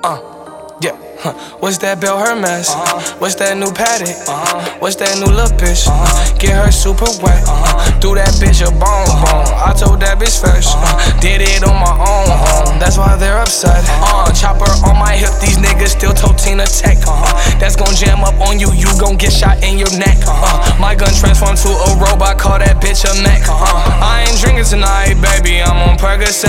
Yeah. What's that Bell Hermes? What's that new Paddock? What's that new little bitch? Get her super wet. Do that bitch a bone. I told that bitch first. Did it on my own. That's why they're upset. Chopper on my hip. These niggas still told Tina Tech. That's gon' jam up on you. You gon' get shot in your neck. My gun transformed to a robot. Call that bitch a mech. I ain't drinking tonight, baby. I'm on Percocet.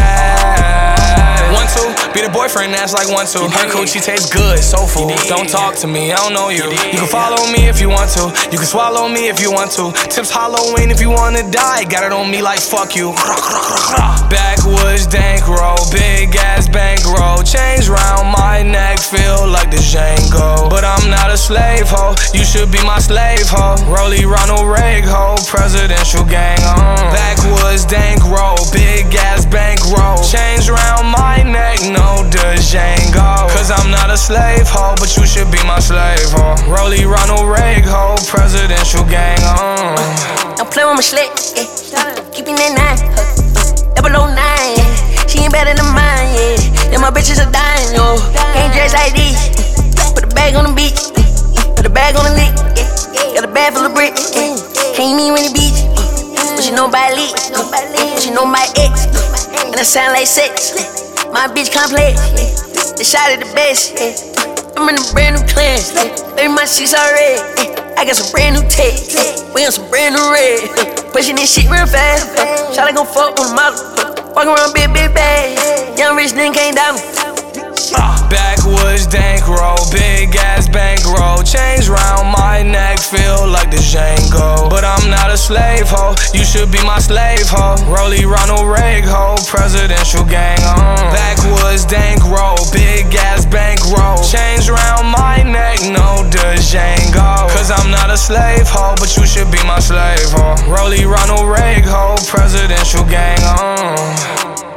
1-2, be the boyfriend, that's like 1-2. Her coochie tastes good, soulful. Don't talk to me, I don't know you. You can follow me if you want to. You can swallow me if you want to. Tips Halloween if you wanna die. Got it on me like fuck you. Backwoods dank roll, big ass bankroll. Chains round my neck, feel like the Django. But I'm not a slave hoe, you should be my slave hoe. Rollie Ronald Reagan hoe, presidential gang on. Backwoods dank roll, big ass bankroll. Chains round my neck, no Django. Cause I'm not a slave hoe, but you should be my slave hoe. Rollie Ronald Reagan hoe, presidential gang on. Don't play with my slick, keeping that 9, 009, she ain't better than mine, yeah. Then my bitches are dying, yo. Can't dress like this, put the bag on the beach, put the bag on the lick, got a bag full of bricks, can't meet when the beach, but you know by leak, but you know my ex, and I sound like sex. My bitch complex, they shot at the best, I'm in a brand new class, baby my shit's already, I got some brand new tech, we on some brand new red, pushing this shit real fast, shawty gon' fuck on the model, walking around big bag, young rich nigga can't doubt me. Backwoods dank roll, big ass bankroll. Chains round my neck, feel like the Django. But I'm not a slave hoe, you should be my slave hoe. Rollie Ronald Reagan hoe, presidential gang on. Backwoods dank roll, big ass bankroll. Chains round my neck, no Django. Cause I'm not a slave hoe, but you should be my slave hoe. Rollie Ronald Reagan hoe, presidential gang on.